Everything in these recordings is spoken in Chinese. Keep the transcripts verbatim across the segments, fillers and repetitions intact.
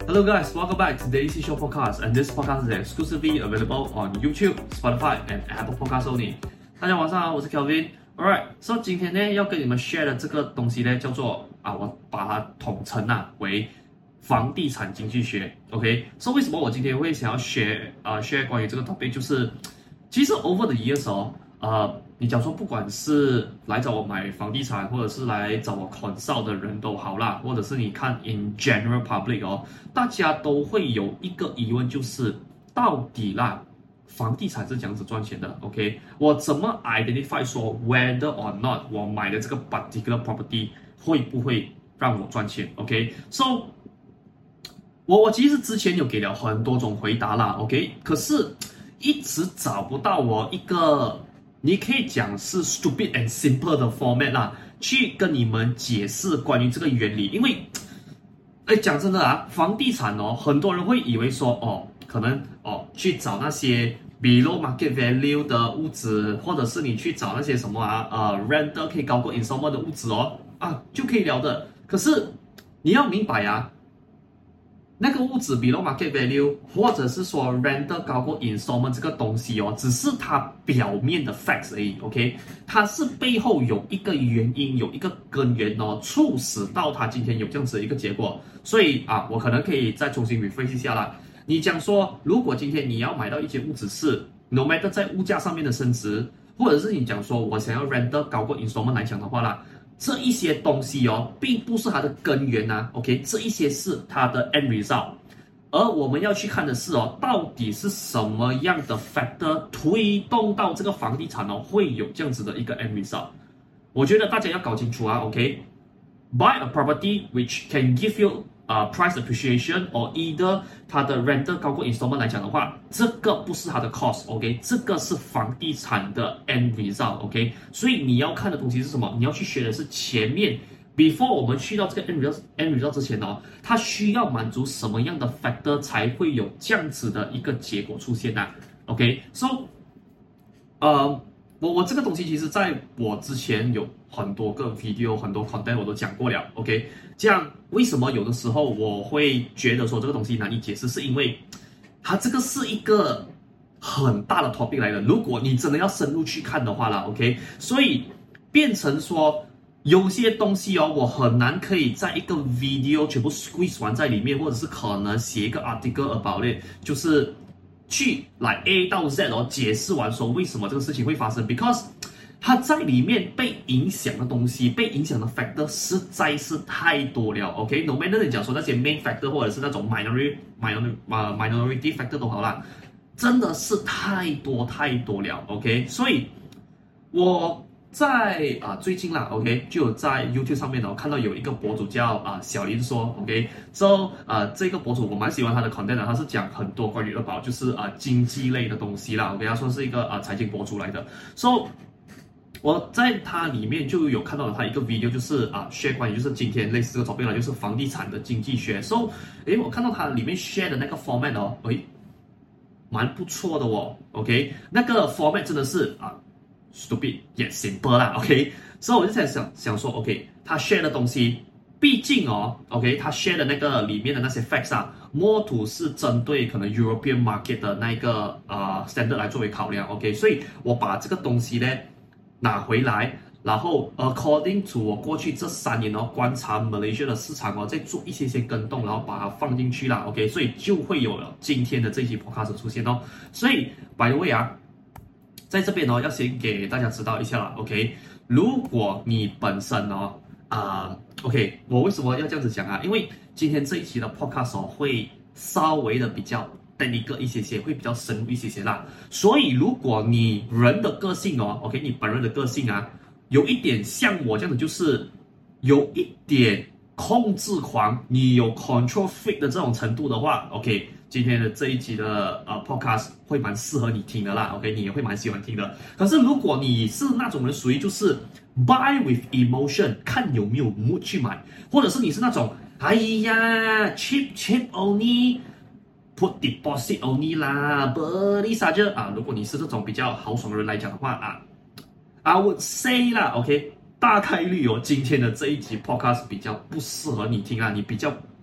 Hello guys, welcome back to the A C Show Podcast, and this podcast is exclusively available on YouTube, Spotify, and Apple Podcasts only. 大家晚上好，我是 Kelvin。Alright, so 今天呢要跟你們 share 的這個東西呢叫做啊，我把它統稱啊為房地產經濟學。OK， so 為什麼我今天會想要 share 啊、uh, share 關於這個 topic， 就是其實 over the years 哦，呃，你講說不管是來找我買房地產，或者是來找我 consult 的人都好啦，或者是你看 in general public 哦，大家都會有一個疑問，就是到底啦，房地產是這樣子賺錢的 ？OK， 我怎麼 identify 說 whether or not 我買的這個 particular property 會不會讓我賺錢 ？OK，so、okay? 我我其實之前有給了很多種回答啦 ，OK， 可是一直找不到我一個。你可以講是 stupid and simple 的 format 啦，去跟你們解釋關於這個原理。因為，哎，講真的啊，房地產哦，很多人會以為說，哦，可能哦去找那些 below market value 的屋子，或者是你去找那些什麼啊，呃 ，renter 可以高過 installment 的屋子哦，啊就可以了的。可是你要明白啊。那個屋子 below market value， 或者是說 renter 高過 installment 這個東西哦，只是它表面的 facts 而已 ，OK？ 它是背後有一個原因，有一個根源哦，促使到它今天有這樣子的一個結果。所以啊，我可能可以再重新 refresh 一下啦。你講說，如果今天你要買到一間屋子是 no matter 在物價上面的升值，或者是你講說我想要 renter 高過 installment 來講的話啦。這一些東西哦，並不是它的根源啊 ，OK， 這一些是它的 end result， 而我們要去看的是哦，到底是什麼樣的 factor 推動到這個房地產哦會有這樣子的一個 end result。我覺得大家要搞清楚啊 ，OK，buy a property which can give you uh, price appreciation or either 它的 renter 高過 installment 來講的話，這個不是它的 cost，OK， 這個是房地產的 end result，OK， 所以你要看的東西是什麼？你要去學的是前面 before 我們去到這個 end result end result 之前哦，它需要滿足什麼樣的 factor 才會有這樣子的一個結果出現啊 ？OK，so，、okay? 呃。我我這個東西其實在我之前有很多個 video 很多 content 我都講過了 ，OK， 這樣為什麼有的時候我會覺得說這個東西難以解釋，是因為它這個是一個很大的 topic 來的，如果你真的要深入去看的話啦 ，OK， 所以變成說有些東西哦，我很難可以在一個 video 全部 squeeze 完在裡面，或者是可能寫一個 article about it， 就是去來 A 到 Z 哦，解釋完說為什麼這個事情會發生 ，because 它在裡面被影響的東西，被影響的 factor 實在是太多了。OK，no matter 你講說那些 main factor 或者是那種 minority minority 呃 minority factor 都好啦，真的是太多太多了。OK， 所以我在啊最近啦 ，OK， 就有在 YouTube 上面呢、哦、看到有一個博主叫啊小林說 ，OK，so 啊這個博主我蠻喜歡他的 content 的，他是講很多關於二寶就是啊經濟類的東西啦 ，OK， 他算是一個啊財經博主來的。So 我在他裡面就有看到了他一個 video， 就是啊 share 關於就是今天類似這個 topic 啦，就是房地產的經濟學。So 誒我看到他裡面 share 的那個 format 哦，誒蠻不錯的哦 ，OK， 那個 format 真的是啊。stupid yet simple 啦 ，OK， 所以我就在想想說 ，OK， 他 share 的東西，畢竟哦 ，OK， 他 share 的那個裡面的那些 facts 啊 ，more to 是針對可能 European market 的那個呃 standard 來作為考量 ，OK， 所以我把這個東西呢拿回來，然後 according to 我過去這三年哦觀察 Malaysia 的市場哦，再做一些些更動，然後把它放進去啦 ，OK， 所以就會有了今天的這一期 podcast 出現哦，所以 by the way 啊。在這邊哦，要先給大家知道一下啦 ，OK？ 如果你本身哦，啊、呃、，OK， 我為什麼要這樣子講啊？因為今天這一期的 podcast 哦，會稍微的比較 technical 一些些，會比較深入一些些啦。所以如果你人的個性哦 ，OK， 你本人的個性啊，有一點像我這樣子，就是有一點控制狂，你有 control freak 的這種程度的話 ，OK。今天的這一集的呃 podcast 會蠻適合你聽的啦 ，OK， 你也會蠻喜歡聽的。可是如果你是那種人，屬於就是 buy with emotion， 看有沒有 mood 去買，或者是你是那種哎呀 cheap cheap only put deposit only 啦 beli saja 啊，如果你是這種比較豪爽的人來講的話啊 ，I would say 啦 ，OK， 大概率哦，今天的這一集 podcast 比較不適合你聽啊，你比較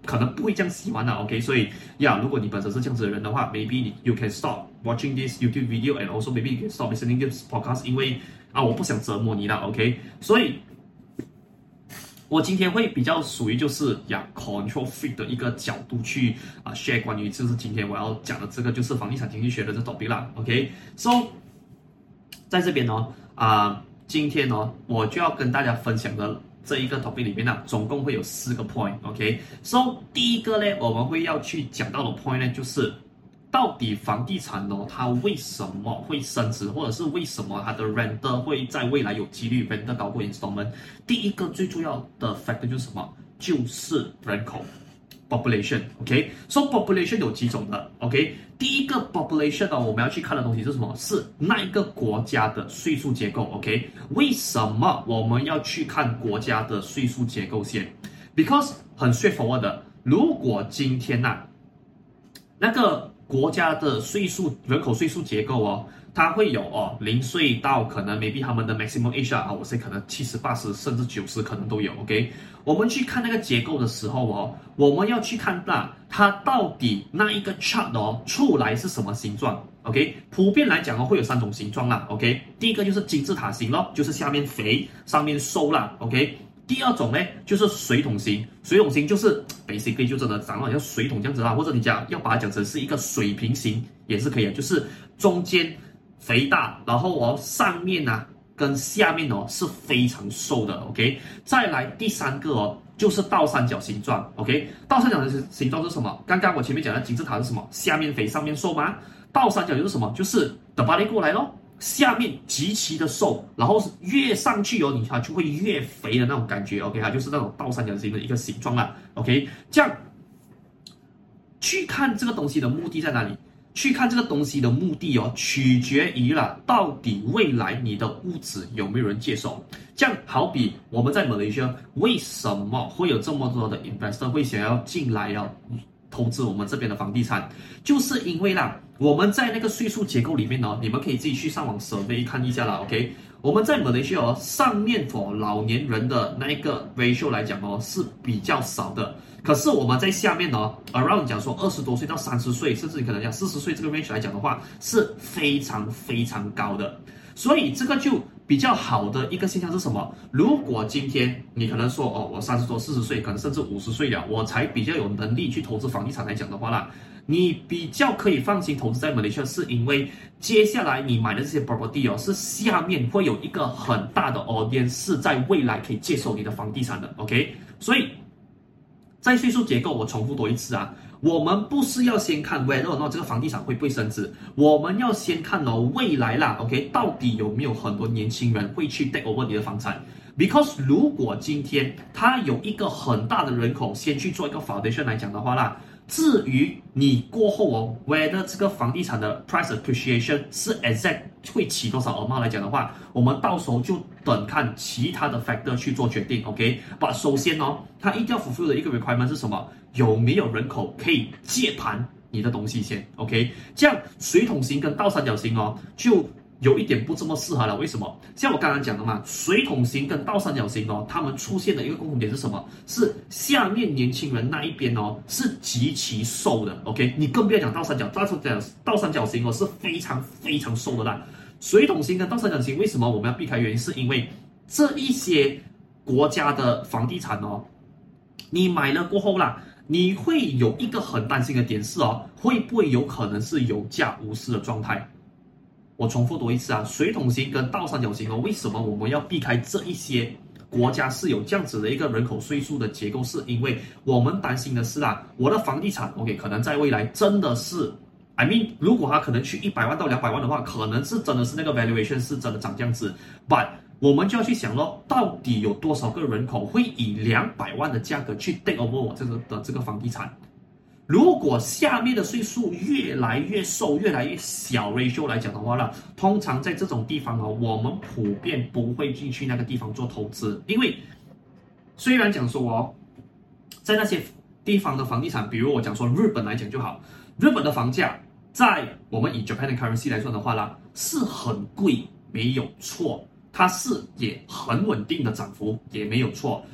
可能不會這樣喜歡的 ，OK？ 所以呀，如果你本身是這樣子的人的話 ，maybe you can stop watching this YouTube video and also maybe you can stop listening to this podcast， 因為啊，我不想折磨你了 ，OK？ 所以，我今天會比較屬於就是呀 control freak 的一個角度去啊 share 關於就是今天我要講的這個就是房地產經濟學的這 topic 啦 ，OK？So， 在這邊呢，啊，今天呢，我就要跟大家分享的這一個 topic 裡面呢，總共會有四個 point，OK？So， 第一個呢，我們會要去講到的 point 呢，就是到底房地產呢，它為什麼會升值，或者是為什麼它的 renter 會在未來有幾率 renter 高過 installment？ 第一個最重要的 factor 就是什麼？就是人口 population，OK？So population 有幾種的 ，OK？ 第一個 population 呢，我們要去看的東西是什麼？是那一個國家的稅數結構 ，OK？ 為什麼我們要去看國家的稅數結構先 ？Because 很 straightforward 的，如果今天吶、啊，那個國家的稅數人口稅數結構哦，它會有哦零歲到可能 maybe 他們的 maximum age 啊，我是可能七十、八十甚至九十可能都有 ，OK？ 我們去看那個結構的時候哦，我們要去看到它到底那一個 chart 哦出來是什麼形狀 ，OK？ 普遍來講哦會有三種形狀啦 ，OK？ 第一個就是金字塔形咯，就是下面肥上面瘦啦 ，OK？第二種呢，就是水桶型，水桶型就是 basically 就真的長得像水桶這樣子啦，或者你講要把它講成是一個水平型也是可以的，就是中間肥大，然後哦上面啊跟下面哦是非常瘦的 ，OK？ 再來第三個哦就是倒三角形狀 ，OK？ 倒三角形形狀是什麼？剛剛我前面講的金字塔是什麼？下面肥上面瘦嗎？倒三角就是什麼？就是 the body 過來咯。下面極其的瘦，然後越上去哦，你它就會越肥的那種感覺 ，OK？ 它就是那種倒三角形的一個形狀啦 ，OK？ 這樣去看這個東西的目的在哪裡？去看這個東西的目的哦，取決於了到底未來你的屋子有沒有人接手。這樣好比我們在馬來西亞，為什麼會有這麼多的 investor 會想要進來要投資我們這邊的房地產？就是因為啦。我們在那個稅數結構裡面呢，你們可以自己去上網 survey 看一下啦 ，OK？ 我們在馬來西亞哦，上面 for 老年人的那一個 ratio 來講哦是比較少的，可是我們在下面呢 ，around 講說二十多歲到三十歲，甚至你可能講四十歲這個 range 來講的話，是非常非常高的，所以這個就比較好的一個現象是什麼？如果今天你可能說哦，我三十多、四十歲，可能甚至五十歲了，我才比較有能力去投資房地產來講的話啦。你比較可以放心投資在馬來西亞，是因為接下來你買的這些 property 哦，是下面會有一個很大的 audience 是在未來可以接手你的房地產的 ，OK？ 所以在稅數結構，我重複多一次啊，我們不是要先看 whether or not 這個房地產會不會升值，我們要先看哦未來啦 ，OK？ 到底有沒有很多年輕人會去 take over 你的房產 ？Because 如果今天它有一個很大的人口先去做一個 foundation 來講的話啦。至於你過後哦 ，whether 這個房地產的 price appreciation 是 exact 會起多少 amount 來講的話，我們到時候就等看其他的 factor 去做決定 ，OK？ 把首先哦，它一定要 fulfill 的一個 requirement 是什麼？有沒有人口可以接盤你的東西先 ，OK？ 這樣水桶型跟倒三角形哦，就有一點不這麼適合了，為什麼？像我剛剛講的嘛，水桶型跟倒三角形哦，它們出現的一個共同點是什麼？是下面年輕人那一邊哦是極其瘦的 ，OK？ 你更不要講倒三角，倒三角倒三角形哦是非常非常瘦的啦。水桶型跟倒三角形為什麼我們要避開？原因是因為這一些國家的房地產哦，你買了過後啦，你會有一個很擔心的點是哦，會不會有可能是有價無市的狀態？我重複多一次啊，水桶型跟倒三角形哦，為什麼我們要避開這一些國家是有這樣子的一個人口稅數的結構？是因為我們擔心的是啊，我的房地產 OK 可能在未來真的是 I mean 如果它可能去一百萬到兩百萬的話，可能是真的是那個 valuation 是真的漲這樣子 ，but 我們就要去想咯，到底有多少個人口會以兩百萬的價格去 take over 我這個的這個房地產？如果下面的稅數越來越瘦、越來越小 ratio 來講的話呢，通常在這種地方哦，我們普遍不會進去那個地方做投資，因為雖然講說哦，在那些地方的房地產，比如我講說日本來講就好，日本的房價在我們以 Japan 的 currency 來說的話呢，是很貴，沒有錯。它是也很穩定的漲幅，也沒有錯。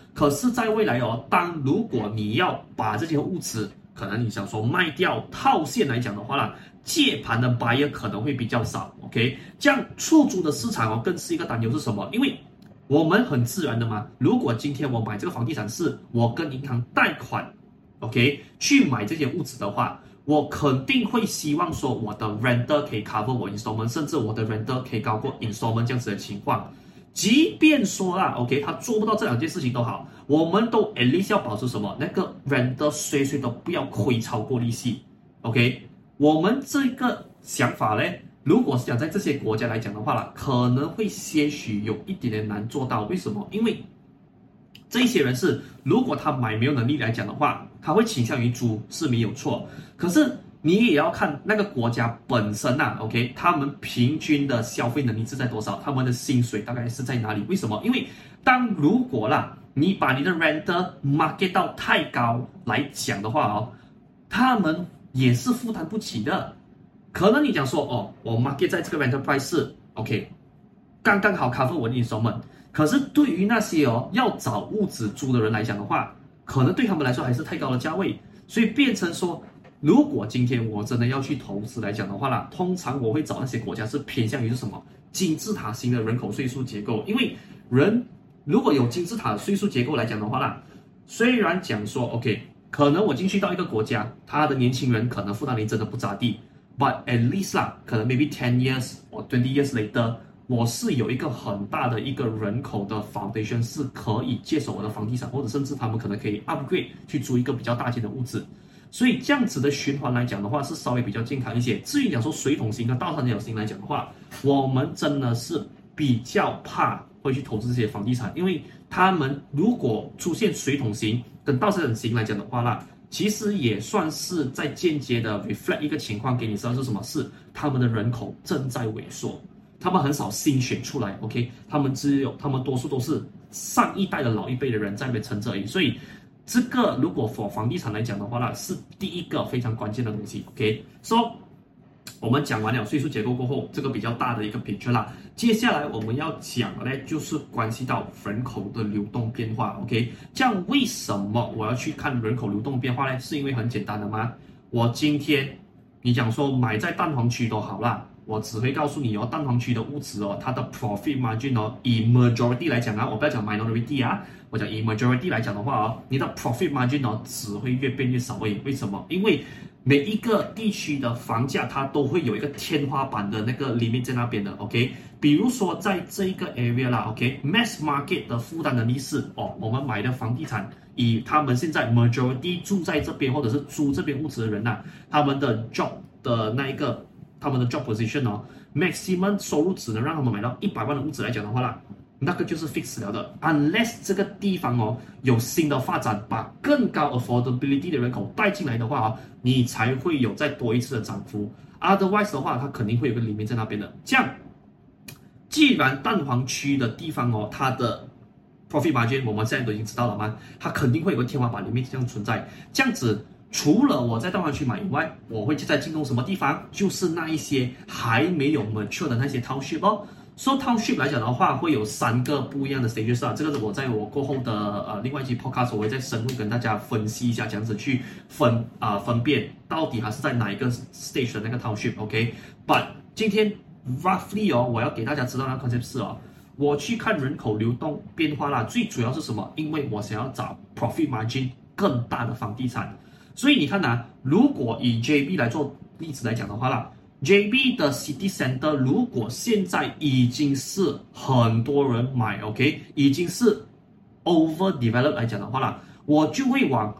可是，在未來哦，當如果你要把這些物質，可能你想說賣掉套現來講的話啦，借盤的 buyer 可能會比較少 ，OK， 這樣出租的市場哦，更是一個擔憂是什麼？因為我們很自然的嘛，如果今天我買這個房地產是我跟銀行貸款 ，OK， 去買這些物質的話，我肯定會希望說我的 renter 可以 cover 我 installment， 甚至我的 renter 可以高過 installment 這樣子的情況。即便說啦 ，OK， 他做不到這兩件事情都好，我們都 at least 要保持什麼？那個 renter 隨隨都不要虧超過利息 ，OK。我們這個想法呢，如果是講在這些國家來講的話啦，可能會些許有一點點難做到。為什麼？因為這些人是，如果他買沒有能力來講的話，他會傾向於租是沒有錯。可是你也要看那個國家本身吶、啊、，OK， 他們平均的消費能力是在多少？他們的薪水大概是在哪裡？為什麼？因為當如果啦，你把你的 renter market 到太高來講的話哦，他們也是負擔不起的。可能你講說哦，我 market 在這個 rental price 是 OK， 剛剛好 cover 我的 installment。可是對於那些哦要找屋子租的人來講的話，可能對他們來說還是太高的價位，所以變成說，如果今天我真的要去投資來講的話啦，通常我會找那些國家是偏向於是什麼金字塔型的人口稅數結構，因為人如果有金字塔稅數結構來講的話啦，雖然講說 OK， 可能我進去到一個國家，他的年輕人可能負擔能力真的不咋地 ，but at least 啦，可能 maybe ten years or twenty years later， 我是有一個很大的一個人口的 foundation 是可以接手我的房地產，或者甚至他們可能可以 upgrade 去租一個比較大間的屋子。所以這樣子的循環來講的話，是稍微比較健康一些。至於講說水桶型跟倒三角形來講的話，我們真的是比較怕會去投資這些房地產，因為他們如果出現水桶型跟倒三角形來講的話啦，其實也算是在間接的 reflect 一個情況給你知道是什麼？是他們的人口正在萎縮，他們很少新選出來 ，OK， 他們只有他們多數都是上一代的老一輩的人在那邊撐着而已，所以。這個如果 for 房地產來講的話呢，是第一個非常關鍵的東西。OK，so 我們講完了稅數結構過後，這個比較大的一個 picture 啦。接下來我們要講的呢，就是關係到人口的流動變化。OK， 這樣為什麼我要去看人口流動變化呢？是因為很簡單的嗎？我今天你講說買在蛋黃區都好啦，我只會告訴你哦，蛋黃區的屋子哦，它的 profit margin 哦，以 majority 來講啊，我不要講 minority 啊。我講以 majority 來講的話哦，你的 profit margin 哦只會越變越少而已。為什麼？因為每一個地區的房價它都會有一個天花板的那個 limit 在那邊的。OK， 比如說在這一個 area 啦 ，OK，mass market 的負擔能力是哦，我們買的房地產以他們現在 majority 住在這邊或者是租這邊屋子的人吶、啊，他們的 job 的那一個他們的 job position 哦 ，maximum 收入只能讓他們買到一百萬的屋子來講的話啦。那個就是 fix 了的 ，unless 這個地方哦有新的發展，把更高 affordability 的人口帶進來的話哦，你才會有再多一次的漲幅。Otherwise 的話，它肯定會有個裡面在那邊的。這樣，既然蛋黃區的地方哦，它的 profit margin 我們現在都已經知道了嗎？它肯定會有個天花板裡面這樣存在。這樣子，除了我在蛋黃區買以外，我會再進攻什麼地方？就是那一些還沒有 mature 的那些 township 哦。So township 來講的話，會有三個不一樣的 stages 啊，這個是我在我過後的呃另外一期 podcast 我會再深入跟大家分析一下，這樣子去分啊、呃、分辨到底它是在哪一個 stage 的那個 township，OK？But、okay? 今天 roughly 哦，我要給大家知道那個 concept 是哦，我去看人口流動變化啦，最主要是什麼？因為我想要找 profit margin 更大的房地產，所以你看吶、啊，如果以 J B 來做例子來講的話啦。J B 的 City Center 如果現在已經是很多人買 ，OK， 已經是 overdeveloped 來講的話啦，我就會往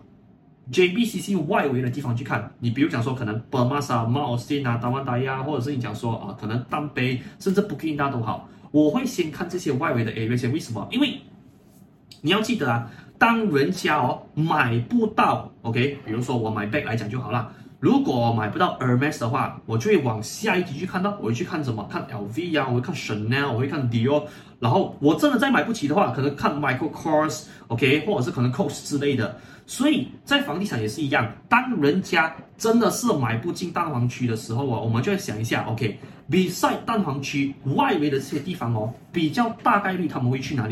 J B C C 外圍的地方去看。你比如講說，可能 Permas 啊、Mount Austin 啊、Taman Daya，或者是你講說啊，可能丹貝，甚至 Bukit Indah 都好，我會先看這些外圍的 area 先。為什麼？因為你要記得啊，當人家哦買不到 ，OK， 比如說我買 bag 來講就好啦。如果我買不到 Hermes 的話，我就會往下一級去看到，我會去看什麼？看 L V 呀、啊，我會看 Chanel， 我會看 Dior。然後我真的再買不起的話，可能看 Michael Kors，OK， 或者是可能 Coach 之類的。所以在房地產也是一樣，當人家真的是買不進蛋黃區的時候啊，我們就會想一下 ，OK，beside 蛋黃區外圍的這些地方哦，比較大概率他們會去哪裡？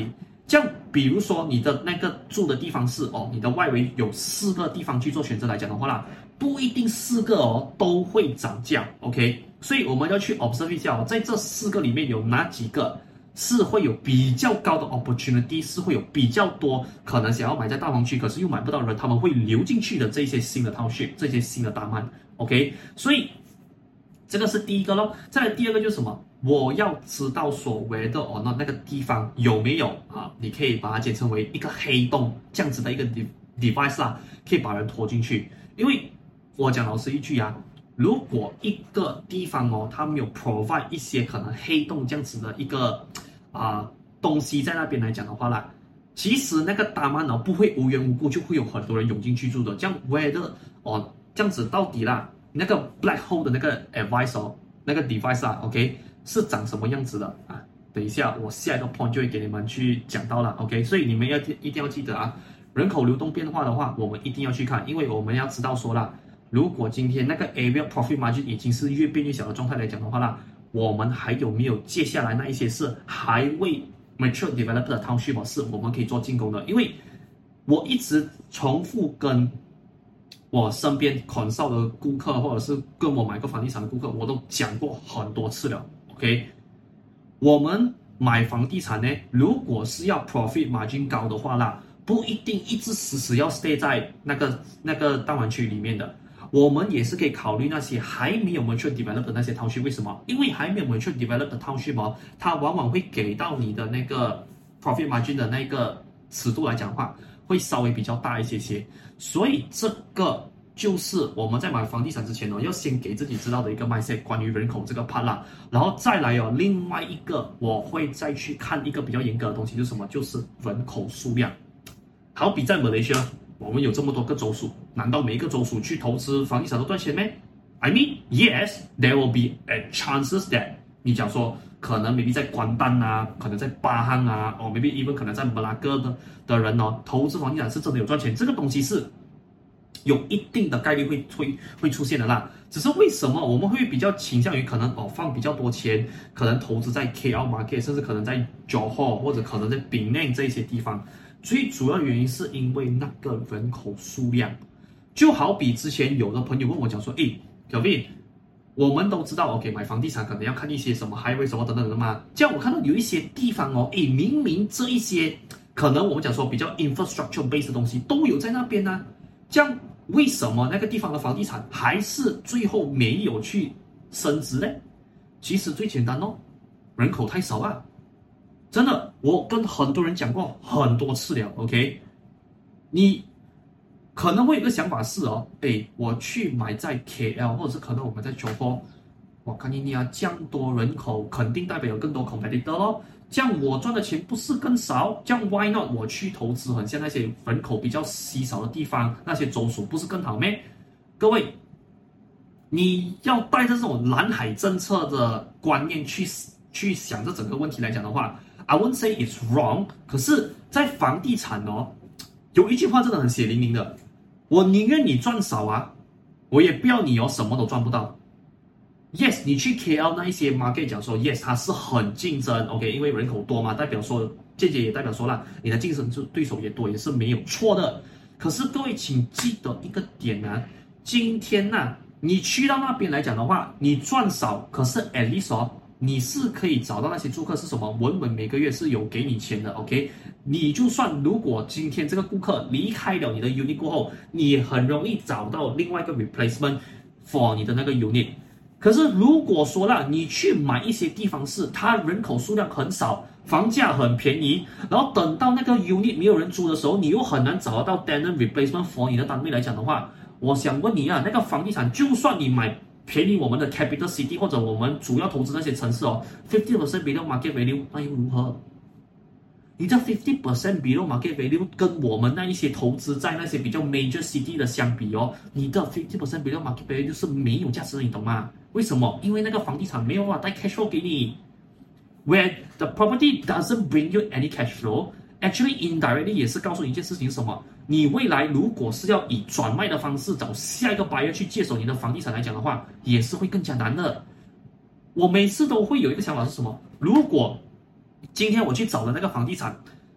這樣，比如說你的那個住的地方是哦，你的外圍有四個地方去做選擇來講的話啦，不一定四個哦都會漲價 ，OK？ 所以我們要去 observe 一下哦，在這四個裡面有哪幾個是會有比較高的 opportunity， 是會有比較多可能想要買在大黃區，可是又買不到人，他們會流進去的這些新的 township， 這些新的大曼 ，OK？ 所以這個是第一個咯。再來第二個就是什麼？我要知道所謂的哦，那那個地方有沒有啊？你可以把它簡稱為一個黑洞這樣子的一個 device 啦，可以把人拖進去。因為我講老實一句啊，如果一個地方哦，它沒有 provide 一些可能黑洞這樣子的一個啊、呃、東西在那邊來講的話啦，其實那個大曼哦不會無緣無故就會有很多人湧進去住的。這樣 whether 哦這樣子到底啦，那個 black hole 的那個 advice 哦，那個 device 啊 ，OK。是長什麼樣子的啊？等一下，我下一個 point 就會給你們去講到了 ，OK？ 所以你們要一定要記得啊，人口流動變化的話，我們一定要去看，因為我們要知道說啦，如果今天那個 area profit margin 已經是越變越小的狀態來講的話啦，我們還有沒有接下來那一些是還未 mature developed 的 township 是我們可以做進攻的？因為我一直重複跟我身邊 consult 的顧客，或者是跟我買過房地產的顧客，我都講過很多次了。OK， 我們買房地產呢，如果是要 profit margin 高的話啦，不一定一直死死要 stay 在那個那個大灣區裡面的。我們也是可以考慮那些還沒有 mature develop 的那些 township。為什麼？因為還沒有 mature develop 的 township 哦，它往往會給到你的那個 profit margin 的那個尺度來講的話，會稍微比較大一些些。所以這個就是我們在買房地產之前哦，要先給自己知道的一個 mindset， 關於人口這個 part 啦，然後再來哦，另外一個我會再去看一個比較嚴格的東西，就是什麼？就是人口數量。好比在馬來西亞，我們有這麼多個州屬，難道每一個州屬去投資房地產都賺錢咩 ？I mean, yes, there will be a chances that 你講說可能 maybe 在關丹啊，可能在巴漢啊，哦 maybe even 可能在馬拉哥的的人哦，投資房地產是真的有賺錢，這個東西是有一定的概率會會會出現的啦，只是為什麼我們會比較傾向於可能哦放比較多錢，可能投資在 K L market， 甚至可能在 Johor 或者可能在 Penang 這一些地方，最主要原因是因為那個人口數量，就好比之前有的朋友問我講說，誒 Kelvin， 我們都知道 OK 買房地產可能要看一些什麼 highway 什麼等等的嘛，這樣我看到有一些地方哦，誒明明這一些可能我們講說比較 infrastructure based 的東西都有在那邊啊，這樣為什麼那個地方的房地產還是最後沒有去升值呢？其實最簡單哦，人口太少啊！真的，我跟很多人講過很多次了。OK， 你可能會有個想法是哦，誒，我去買在 K L， 或者是可能我們在Johor，我看你啊，這樣多人口肯定代表有更多 competitor 咯。這樣我賺的錢不是更少？這樣 why not 我去投資很像那些人口比較稀少的地方，那些州屬不是更好咩？各位，你要帶着這種藍海政策的觀念去去想這整個問題來講的話 ，I won't say it's wrong。可是，在房地產哦，有一句話真的很血淋淋的，我寧願你賺少啊，我也不要你哦什麼都賺不到。Yes， 你去 K L 那一些 market 講說 ，Yes， 它是很競爭 ，OK， 因為人口多嘛，代表說，間接也代表說啦，你的競爭對手也多，也是沒有錯的。可是各位請記得一個點啊，今天吶、啊，你去到那邊來講的話，你賺少，可是 at least 哦，你是可以找到那些住客是什麼，穩穩每個月是有給你錢的 ，OK， 你就算如果今天這個顧客離開了你的 unit 過後，你也很容易找到另外一個 replacement for 你的那個 unit。可是如果說啦，你去買一些地方是它人口數量很少，房價很便宜，然後等到那個 unit 沒有人租的時候，你又很難找得到 tenant replacement for 你的單位來講的話，我想問你啊，那個房地產就算你買便宜我們的 capital city 或者我們主要投資那些城市哦 ，fifty percent below market value， 那又如何？你的 fifty percent below market value 跟我們那一些投資在那些比較 major city 的相比哦，你的 fifty percent below market value 是沒有價值的，你懂嗎？為什麼？因為那個房地產沒有辦法帶 cash flow 給你 ，where the property doesn't bring you any cash flow，actually indirectly 也是告訴你一件事情是什麼？你未來如果是要以轉賣的方式找下一個 buyer 去接手你的房地產來講的話，也是會更加難的。我每次都會有一個想法是什麼？如果今天我去找的那個房地產，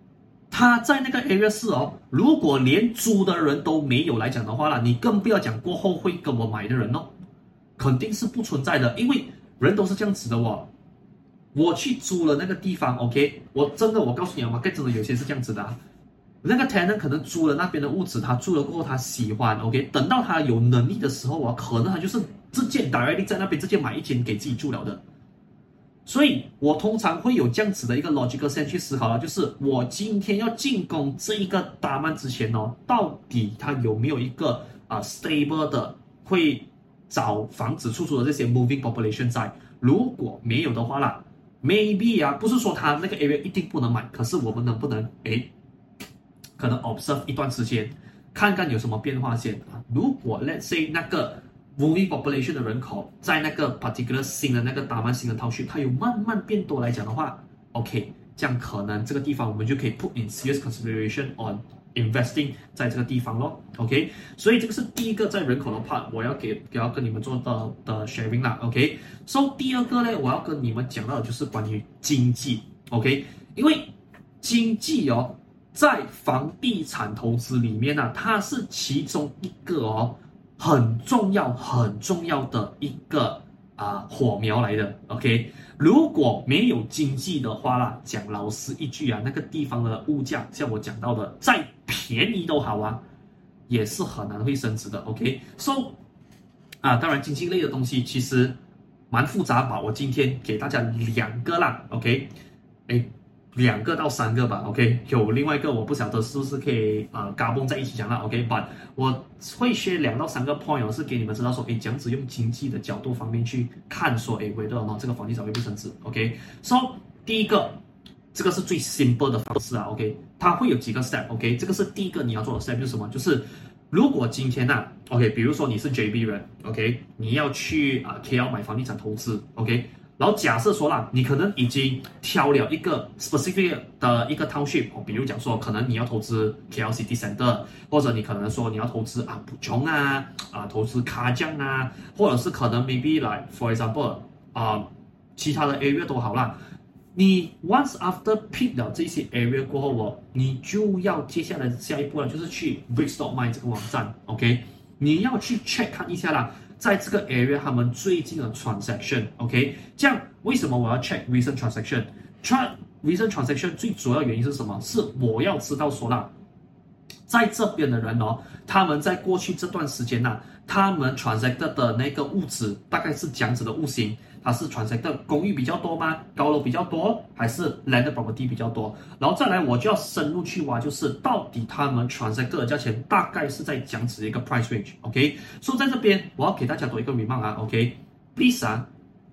他在那個 area 是哦，如果連租的人都沒有來講的話啦，你更不要講過後會跟我買的人哦，肯定是不存在的，因為人都是這樣子的哦。我去租了那個地方 ，OK， 我真的我告訴你啊，馬 真的有些是這樣子的、啊。那個 tenant 可能租了那邊的屋子，他住了過後他喜歡 ，OK， 等到他有能力的時候啊，可能他就是直接 directly 在那邊直接買一間給自己住了的。所以我通常會有這樣子的一個 logical sense 去思考了，就是我今天要進攻這一個大曼之前哦，到底它有沒有一個啊、呃、stable 的會找房子出租的這些 moving population 在？如果沒有的話啦 ，maybe 啊，不是說它那個 area 一定不能買，可是我們能不能誒，可能 observe 一段時間，看看有什麼變化先啊？如果 let's say 那個moving population 的人口在那個 particular 新的那個大曼新的 township， 它有慢慢變多來講的話 ，OK， 這樣可能這個地方我們就可以 put in serious consideration on investing 在這個地方咯 ，OK， 所以這個是第一個在人口的 part， 我要給要跟你們做的的 sharing 啦 ，OK，so、okay? 第二個呢，我要跟你們講到的就是關於經濟 ，OK， 因為經濟哦，在房地產投資裡面呢、啊，它是其中一個哦。很重要、很重要的一個啊、呃、火苗來的 ，OK。如果沒有經濟的話啦，講老實一句啊，那個地方的物價，像我講到的，再便宜都好啊，也是很難會升值的 ，OK。So 啊，當然經濟類的東西其實蠻複雜吧，我今天給大家兩個啦 ，OK。哎。兩個到三個吧 ，OK， 有另外一個我不曉得是不是可以呃嘎嘣在一起講啦 ，OK，but 我會 share 兩到三個 point， 是給你們知道說，誒，這樣子用經濟的角度方面去看說，誒，whether or not這個房地產會不會升值 ，OK，so、okay? 第一個，這個是最 simple 的方式啊 ，OK， 它會有幾個 step，OK，、okay? 這個是第一個你要做的 step 就是什麼？就是如果今天吶、啊、，OK， 比如說你是 J B 人 ，OK， 你要去啊、呃、K L 買房地產投資 ，OK。然後假設說啦，你可能已經挑了一個 specific 的一個 township，比如講說，可能你要投資 K L City Centre， 或者你可能說你要投資啊 Puchong 啊，啊投資 Kajang 啊，或者是可能 maybe like for example 啊其他的 area 都好啦。你 once after pick 了這些 area 過後哦，你就要接下來下一步了，就是去 Brickstockmine 這個網站 ，OK， 你要去 check 看一下啦。在這個 area 他們最近的 transaction，OK， 這樣為什麼我要 check recent transaction？check recent transaction 最主要原因是什麼？是我要知道說啦，在這邊的人哦，他們在過去這段時間吶、啊，他們 transacted 的那個物質大概是這樣子的物型。它是 transacted 公寓比較多嗎？高樓比較多，還是 landed property 比較多？然後再來，我就要深入去挖，就是到底他們 transacted 的價錢大概是在這樣子的一個 price range，OK？ 所以在這邊我要給大家多一個 remark 啊 ，OK？Please 啊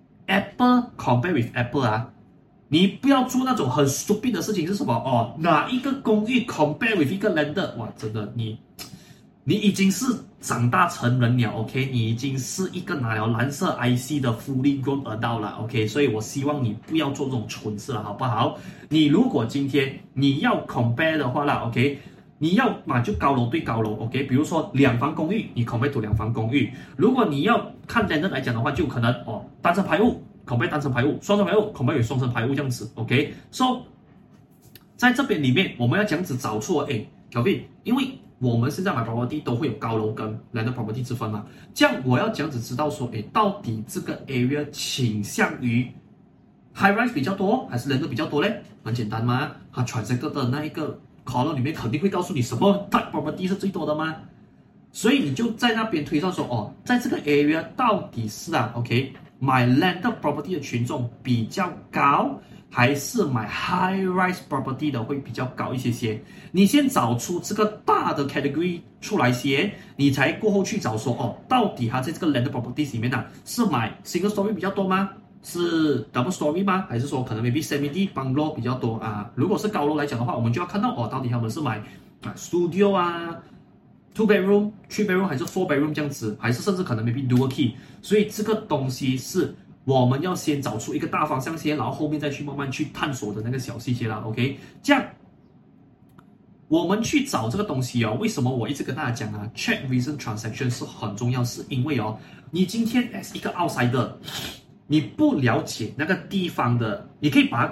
，Apple compare with Apple 啊，你不要做那種很 stupid 的事情是什麼？哦，哪一個公寓 compare with 一個 landed？ 哇，真的你。你已經是長大成人了 ，OK？ 你已經是一個拿了藍色 I C 的 fully grown adult 了 ，OK？ 所以我希望你不要做這種蠢事了，好不好？你如果今天你要 compare 的話啦 ，OK？ 你要嘛就高樓對高樓 ，OK？ 比如說兩房公寓，你 compare to 兩房公寓。如果你要看 landed 來講的話，就可能哦單層排屋 compare 單層排屋，雙層排屋 compare 與雙層排屋這樣子 ，OK？So 在這邊裡面，我們要這樣子找出誒 Kelvin， 因為我們現在買 property 都會有高樓跟 landed property 之分嘛，這樣我要這樣子知道說，誒，到底這個 area 傾向於 high rise 比較多，還是 landed 比較多嘞？很簡單嘛，它 transacted 的那一個 column 裡面肯定會告訴你什麼 type property 是最多的嘛，所以你就在那邊推算說，哦，在這個 area 到底是啊 ，OK， 買 landed property 的群眾比較高，還是買 high rise property 的會比較高一些些？你先找出這個大的 category 出來先，你才過後去找說哦，到底它在這個 landed property 裡面呢、啊，是買 single story 比較多嗎？是 double story 嗎？還是說可能 maybe semi bungalow 比較多啊？如果是高樓來講的話，我們就要看到哦，到底他們是買啊 studio 啊 two bedroom、three bedroom 還是 four bedroom 這樣子，還是甚至可能 maybe dual key。所以這個東西是我們要先找出一個大方向先，然後後面再去慢慢去探索的那個小細節啦 ，OK？ 這樣我們去找這個東西哦，為什麼我一直跟大家講啊 ？Check recent transaction 是很重要，是因為哦，你今天 as 一個 outsider，你不了解那個地方的，你可以把它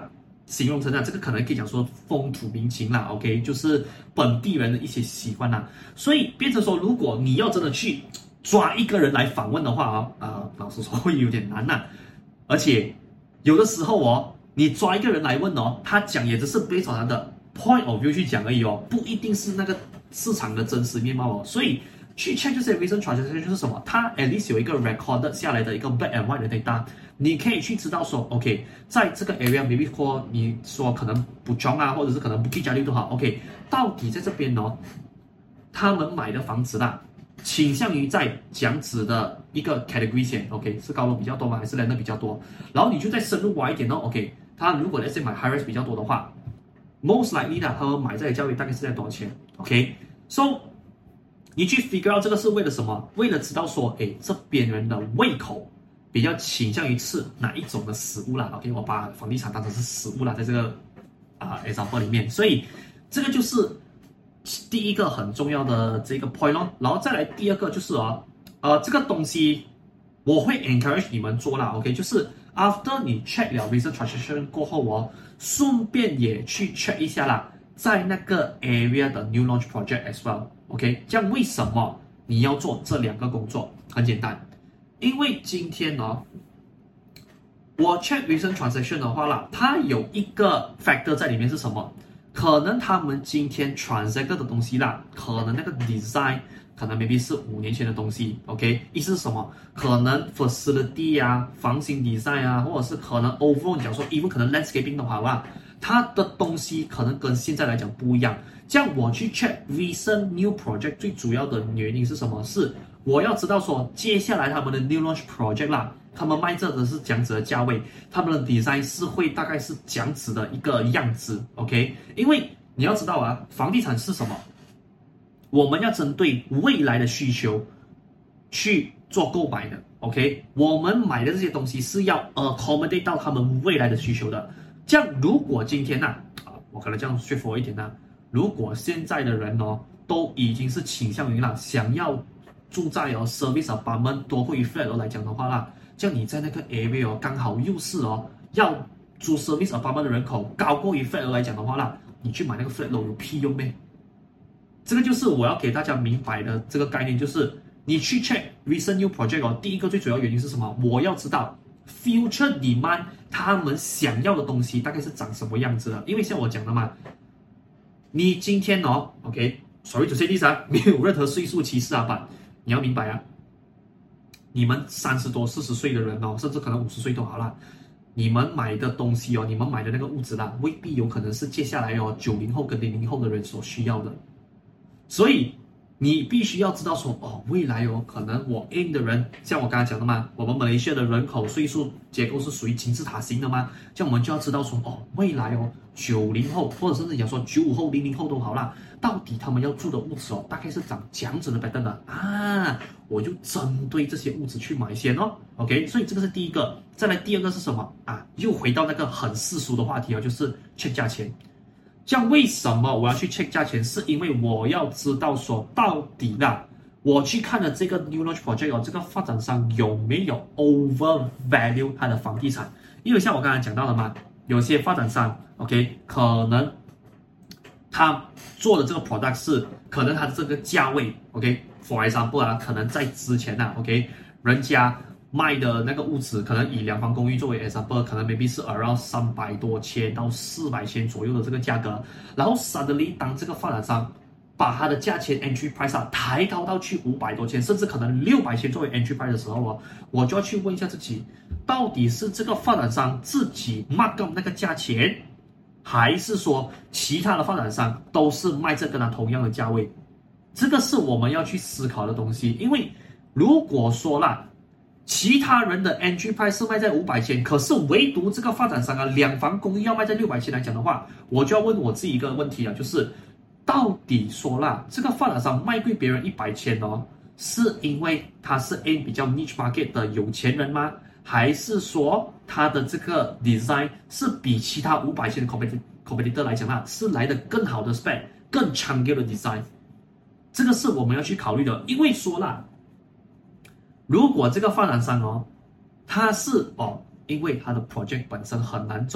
形容成啊，這個可能可以講說風土民情啦 ，OK， 就是本地人的一些習慣啦，所以變成說，如果你要真的去抓一個人來訪問的話啊，呃，老實說會有點難吶、啊，而且有的時候哦，你抓一個人來問哦，他講也只是based on他的 point of view 去講而已哦，不一定是那個市場的真實面貌哦，所以去 check 這些 recent transaction 就是什麼，它 at least 有一個 recorded 下來的一個 black and white 的 data。你可以去知道說 ，OK， 在這個 area，maybe 說你說可能不中啊，或者是可能不 Bukit Jalil 都好 ，OK， 到底在這邊哦，他們買的房子啦，傾向於在這樣子的一個 category 線 ，OK， 是高樓比較多嗎？還是 land 比較多？然後你就再深入挖一點哦 ，OK， 他如果那些買 high rise 比較多的話 ，most likely 的他們買這裡價位大概是在多少錢 ？OK，so 你去 figure out 這個是為了什麼？為了知道說，哎，這邊人的胃口。比較傾向於吃哪一種的食物啦 ？OK， 我把房地產當成是食物啦，在這個啊、呃、example 裡面，所以這個就是第一個很重要的這個 point 咯。然後再來第二個就是哦，呃，這個東西我會 encourage 你們做啦 ，OK， 就是 after 你 check 了 recent transaction 過後哦，順便也去 check 一下啦，在那個 area 的 new launch project as well，OK， 這樣為什麼你要做這兩個工作？很簡單。因為今天哦，我 check recent transaction 的話啦，它有一個 factor 在裡面是什麼？可能他們今天 transact 的東西啦，可能那個 design 可能 maybe 是五年前的東西 ，OK？ 意思是什麼？可能 facility 啊、房型 design 啊，或者是可能 overall 講說 even 可能 landscaping 的話啦，它的東西可能跟現在來講不一樣。這樣我去 check recent new project 最主要的原因是什麼？是我要知道說，接下來他們的 new launch project 啦，他們賣這的是這樣子的價位，他們的 design 是會大概是這樣子的一個樣子 ，OK？ 因為你要知道啊，房地產是什麼？我們要針對未來的需求去做購買的 ，OK？ 我們買的這些東西是要 accommodate 到他們未來的需求的。這樣，如果今天吶、啊，啊，我可能這樣說服我一點吶、啊，如果現在的人哦，都已經是傾向於啦，想要住在哦 service apartment 多過於 flat 來講的話啦，這樣你在那個 area 哦，剛好又是哦要住 service apartment 的人口高過於 flat 來講的話啦，你去買那個 flat 樓有屁用咩？這個就是我要給大家明白的這個概念，就是你去 check recent new project 哦，第一個最主要原因是什麼？我要知道 future demand 他們想要的東西大概是長什麼樣子的，因為像我講的嘛，你今天哦 ，OK，sorry to say this啊，沒有任何歲數歧視啊，吧。你要明白啊，你們三十多、四十歲的人哦，甚至可能五十歲都好啦，你們買的東西哦，你們買的那個物質啦，未必有可能是接下來哦九零後跟零零後的人所需要的，所以你必須要知道說哦，未來哦，可能我 aim 的人，像我剛才講的嘛，我們馬來西亞的人口歲數結構是屬於金字塔型的嘛，這樣我們就要知道說哦，未來哦九零後或者甚至講說九五後、零零後都好啦。到底他們要住的物質哦，大概是長這樣子的 pattern 的啊，我就針對這些物質去買先哦 ，OK， 所以這個是第一個。再來第二個是什麼啊？又回到那個很世俗的話題哦，就是 check 價錢。這樣為什麼我要去 check 價錢？是因為我要知道說到底啦，我去看了這個 new launch project 哦，這個發展商有沒有 over value 它的房地產？因為像我剛才講到的嘛，有些發展商 OK 可能。他做的這個 product 是可能他的這個價位 ，OK，for example 啊，可能在之前啊 ，OK， 人家賣的那個物質，可能以兩房公寓作為 example， 可能 maybe 是 around 三百多千到四百千左右的這個價格，然後 suddenly 當這個發展商把它的價錢 entry price 啊抬高到去五百多千，甚至可能六百千作為 entry price 的時候哦，我就要去問一下自己，到底是這個發展商自己 mark up 那個價錢？還是說其他的發展商都是賣這跟它同樣的價位？這個是我們要去思考的東西。因為如果說啦，其他人的 entry price 是賣在五百千，可是唯獨這個發展商啊，兩房公寓要賣在六百千來講的話，我就要問我自己一個問題啊，就是到底說啦，這個發展商賣貴別人一百千哦，是因為他是 aim 比較 niche market 的有錢人嗎？還是說它的這個 design 是比其他五百千的 competitor competitor 來講啦，是來的更好的 spec、更長久的 design？ 這個是我們要去考慮的。因為說啦，如果這個發展商哦，它是哦，因為它的 project 本身很難走，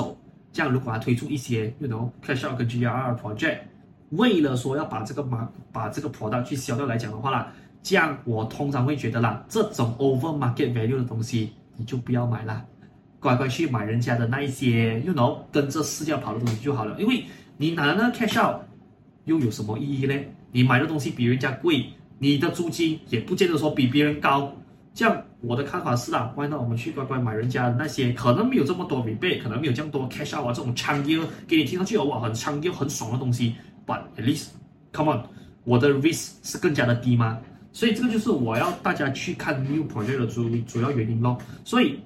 這樣如果他推出一些 you know cash out 跟 G R R project， 為了說要把這個馬把這個 product 去銷掉來講的話啦，這樣我通常會覺得啦，這種 over market value 的東西你就不要買啦，乖乖去買人家的那一些 you know 跟着市價跑的東西就好了，因為你拿了那個 cash out 又有什麼意義呢？你買的東西比人家貴，你的租金也不見得說比別人高。這樣我的看法是啦，why not我們去乖乖買人家的那些可能沒有這麼多 rebate， 可能沒有這麼多 cash out 啊，這種長優給你聽上去哇很長優很爽的東西 ，but at least come on， 我的 risk 是更加的低嗎？所以這個就是我要大家去看 new project 的主主要原因咯。所以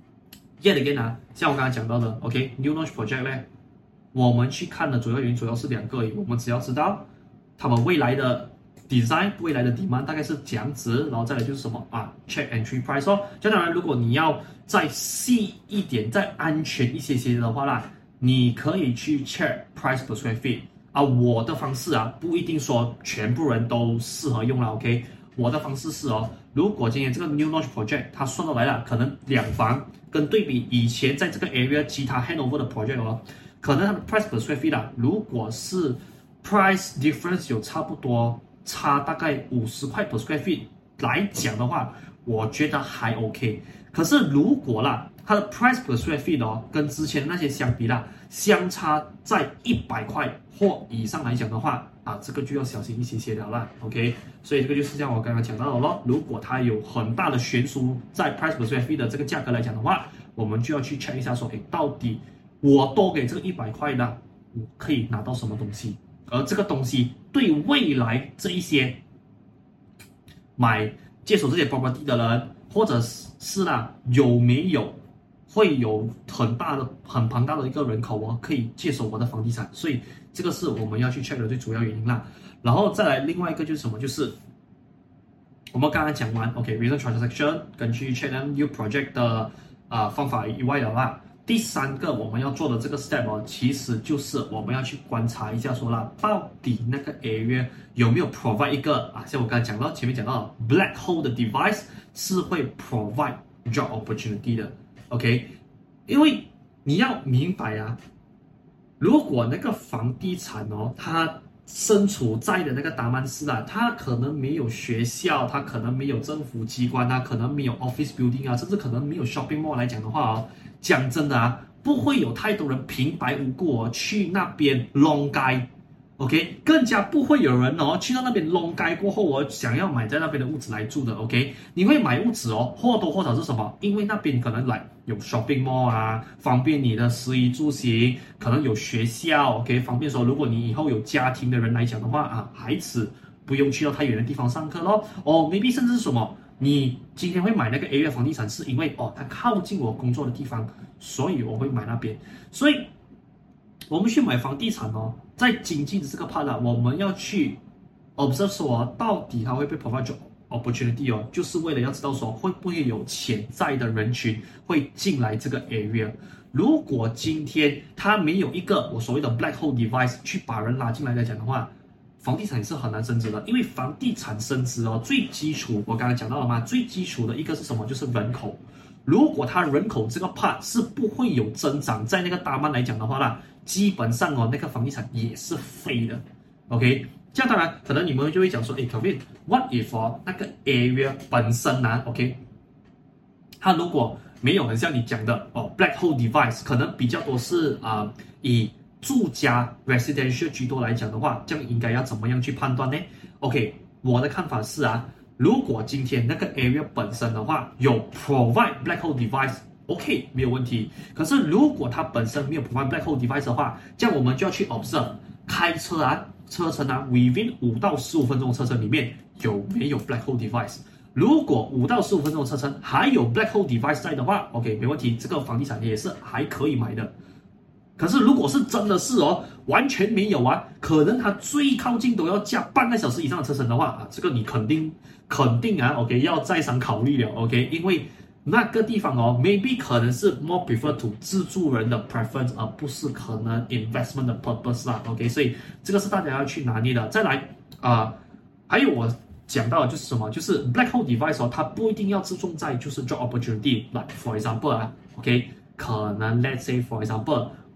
yet again 啊，像我剛才講到的 ，OK new launch project 呢，我們去看的主要原因主要是兩個而已，我們只要知道他們未來的 design 未來的 demand 大概是這樣子，然後再來就是什麼啊 check entry price 哦。就當然，如果你要再細一點、再安全一些些的話啦，你可以去 check price per square feet 啊。我的方式啊，不一定說全部人都適合用啦 ，OK。我的方式是哦，如果今天這個 new launch project 它算到來了，可能兩房跟對比以前在這個 area 其他 handover 的 project 哦，可能它的 price per square feet 啊，如果是 price difference 有差不多差大概五十塊 per square feet 來講的話，我覺得還 OK。可是如果啦，它的 price per square feet 哦，跟之前那些相比啦，相差在一百塊或以上來講的話，啊，這個就要小心一些些了啦 ，OK。所以這個就是像我剛剛講到的咯，如果它有很大的懸殊在 price per square feet 的這個價格來講的話，我們就要去 check 一下說，誒，到底我多給這個一百塊呢，我可以拿到什麼東西？而這個東西對未來這一些買接手這些 property 的人，或者是啦有沒有會有很大的、很龐大的一個人口哦，可以接手我的房地產，所以這個是我們要去 check 的最主要原因啦。然後再來另外一個就是什麼，就是我們剛剛講完 ，OK，recent transaction 跟去 check new project 的啊、呃、方法以外的話，第三個我們要做的這個 step 哦，其實就是我們要去觀察一下說啦，到底那個 area 有沒有 provide 一個啊，像我剛才講到前面講到 black hole 的 device 是會 provide job opportunity 的 ，OK， 因為你要明白啊，如果那個房地產哦，它身處在的那個達曼市啊，它可能沒有學校，它可能沒有政府機關啊，可能沒有 office building 啊，甚至可能沒有 shopping mall 來講的話哦，講真的啊，不會有太多人平白無故哦去那邊 long 街 ，OK， 更加不會有人哦去到那邊 long 街過後我、哦、想要買在那邊的屋子來住的 ，OK， 你會買屋子哦，或多或少是什麼？因為那邊可能來有 shopping mall 啊，方便你的食衣住行，可能有學校 ，OK， 方便說如果你以後有家庭的人來講的話啊，孩子不用去到太遠的地方上課咯，哦 ，maybe 甚至是什麼？你今天會買那個 area 房地產，是因為哦，它靠近我工作的地方，所以我會買那邊。所以，我們去買房地產哦，在經濟的這個 part 啊，我們要去 observe 說，到底它會被 provide job opportunity 哦，就是為了要知道說，會不會有潛在的人群會進來這個 area。如果今天它沒有一個我所謂的 black hole device 去把人拉進來來講的話，房地產也是很難升值的，因為房地產升值哦，最基礎我剛才講到了嘛，最基礎的一個是什麼？就是人口。如果它人口這個 part 是不會有增長，在那個大曼來講的話啦，基本上哦，那個房地產也是廢的。OK， 這樣當然可能你們就會講說，誒 ，Kevin，what if 哦那個 area 本身呢 ？OK， 它如果沒有很像你講的哦 ，black hole device 可能比較多是啊、呃、以住家 residential 居多來講的話，這樣應該要怎麼樣去判斷呢 ？OK， 我的看法是啊，如果今天那個 area 本身的話有 provide black hole device，OK， 沒有問題。可是如果它本身沒有 provide black hole device 的話，這樣我們就要去 observe 開車啊，車程啊 ，within 五到十五分鐘的車程裡面有沒有 black hole device。如果五到十五分鐘的車程還有 black hole device 在的話 ，OK， 沒問題，這個房地產也是還可以買的。可是如果是真的是哦，完全沒有啊，可能它最靠近都要加半個小時以上的車程的話啊，這個你肯定肯定啊 ，OK， 要再三考慮了 ，OK， 因為那個地方哦 ，maybe 可能是 more prefer to 自住人的 preference， 而不是可能 investment 的 purpose 啦 ，OK， 所以這個是大家要去拿捏的。再來啊、呃，還有我講到的就是什麼，就是 black hole device 哦，它不一定要注重在就是 job opportunity，like for example 啊 ，OK， 可能 let's say for example。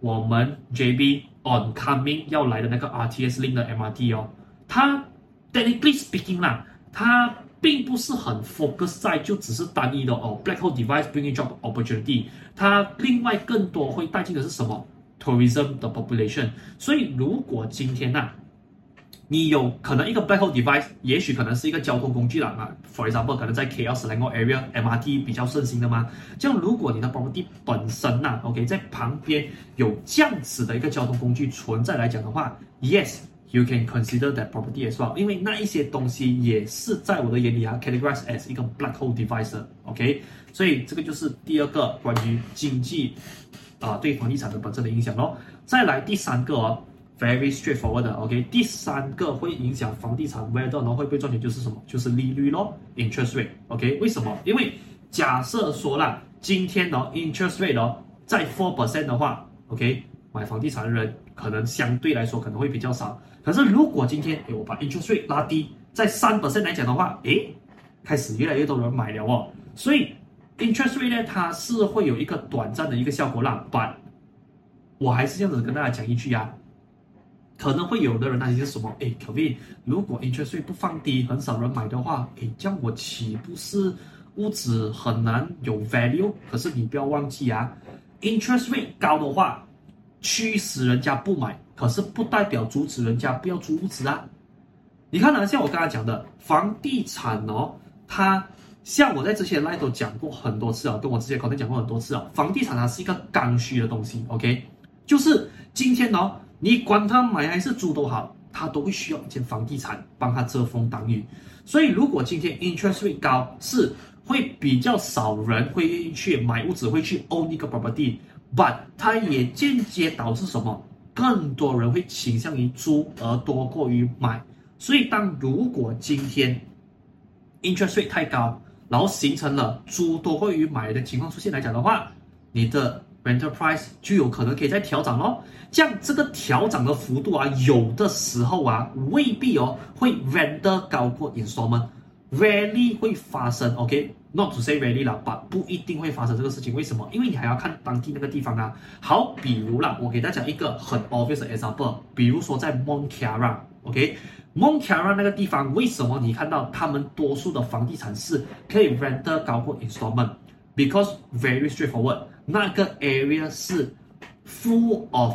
我們 J B oncoming 要來的那個 R T S link 的 M R T 哦，它 technically speaking 啦，它並不是很 focus 在就只是單一的哦 black hole device bringing job opportunity， 它另外更多會帶進的是什麼 tourism 的 population。所以如果今天吶、啊，你有可能一個 black hole device， 也許可能是一個交通工具啦啊 ，for example 可能在 K L Selangor area M R T 比較盛行的嘛，這樣如果你的 property 本身吶、啊、，OK 在旁邊有這樣子的一個交通工具存在來講的話 ，yes。You can consider that property as well， 因為那一些東西也是在我的眼裡啊 categorized as 一個 black hole device，OK， 所以這個就是第二個關於經濟啊、呃、對房地產的本身的影響咯。再來第三個哦 ，very straightforward 的 ，OK， 第三個會影響房地產 whether 然後會不會賺錢就是什麼？就是利率咯 ，interest rate，OK， 為什麼？因為假設說啦，今天哦 interest rate 哦在 four percent 的話 ，OK， 買房地產的人可能相對來說可能會比較少。可是如果今天誒我把 interest rate 拉低，在 三 percent 來講的話，誒，開始越來越多人買了哦。所以 interest rate 呢，它是會有一個短暫的一個效果啦。But 我還是這樣子跟大家講一句啊，可能會有的人擔心是什麼？誒 Kelvin， 如果 interest rate 不放低，很少人買的話，誒，這樣我豈不是屋子很難有 value？ 可是你不要忘記啊 ，interest rate 高的話，驅使人家不買。可是不代表阻止人家不要租屋子啊！你看啊，像我剛才講的房地產哦，它像我在之前 live 都講過很多次啊，跟我之前可能講過很多次啊，房地產它是一個剛需的東西 ，OK， 就是今天哦，你管它買還是租都好，它都會需要一間房地產幫它遮風擋雨。所以如果今天 interest rate 高，是會比較少人會去買屋子，會去 own 一個 property，but 它也間接導致什麼？更多人會傾向於租而多過於買，所以當如果今天 interest rate 太高，然後形成了租多過於買的情況出現來講的話，你的 rental price 就有可能可以再調漲咯。這樣這個調漲的幅度啊，有的時候啊未必哦會 render 高過 installment。Rarely 會發生 ，OK，not to say rarely 啦，但不一定會發生這個事情。為什麼？因為你還要看當地那個地方啊。好，比如啦，我給大家一個很 obvious 的 example， 比如說在 Mont Kiara，OK，Mont Kiara 那個地方，為什麼你看到他們多數的房地產是可以 render 高過 installment？Because very straightforward， 那個 area 是 full of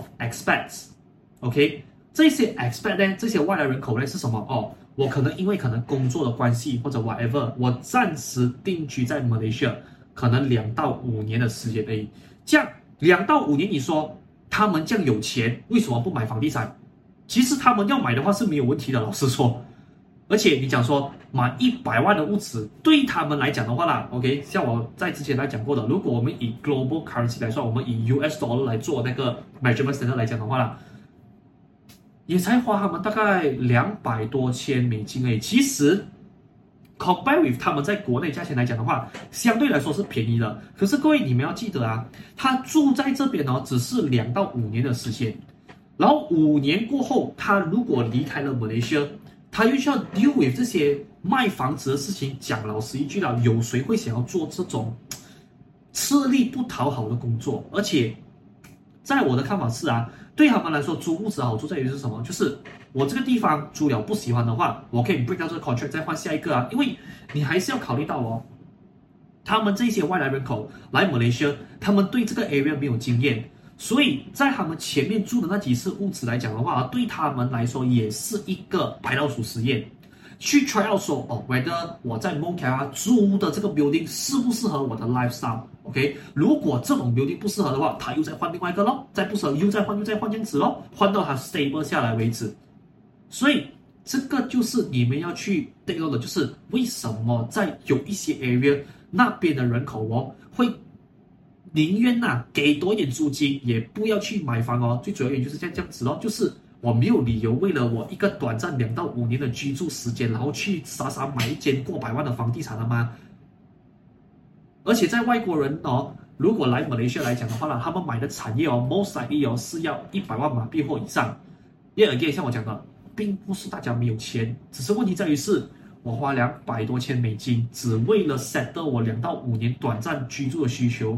expats，OK， 這些 expat 呢，這些外來人口呢是什麼？哦。我可能因為可能工作的關係或者 whatever， 我暫時定居在 Malaysia， 可能兩到五年的時間而已。這樣兩到五年，你說他們這樣有錢，為什麼不買房地產？其實他們要買的話是沒有問題的，老實說。而且你講說買一百萬的屋子，對他們來講的話啦 ，OK， 像我在之前來講過的，如果我們以 global currency 來說，我們以 U S dollar 來做那個 measurement standard 來講的話啦。也才花他們大概兩百多千美金而已。其實 ，compare with 他們在國內價錢來講的話，相對來說是便宜的。可是各位你們要記得啊，他住在這邊哦，只是兩到五年的時間。然後五年過後，他如果離開了 Malaysia， 他又需要 deal with 這些賣房子的事情。講老實一句啦，有誰會想要做這種吃力不討好的工作？而且，在我的看法是啊。對他們來說，租屋子的好處在於是什麼？就是我這個地方租了不喜歡的話，我可以 break 掉這個 contract 再換下一個啊。因為你還是要考慮到哦，他們這些外來人口來 Malaysia， 他們對這個 area 沒有經驗，所以在他們前面住的那幾次屋子來講的話，對他們來說也是一個白老鼠實驗。去 try out 說哦 ，whether 我在 Mont Kiara 租的這個 building 適不適合我的 lifestyle？OK， 如果這種 building 不適合的話，他又再換另外一個咯，再不適合又再換又再換這樣子咯，換到它 stable 下來為止。所以這個就是你們要去 take note 的，就是為什麼在有一些 area 那邊的人口哦，會寧願吶給多一點租金，也不要去買房哦。最主要原因就是這樣這樣子咯，就是我沒有理由為了我一個短暫兩到五年的居住時間，然後去傻傻買一間過百萬的房地產了嗎？而且在外國人哦，如果來馬來西亞來講的話呢，他們買的產業哦 ，most likely 哦是要一百萬馬幣或以上。因為 again 像我講的，並不是大家沒有錢，只是問題在於是我花兩百多千美金，只為了 settle 我兩到五年短暫居住的需求，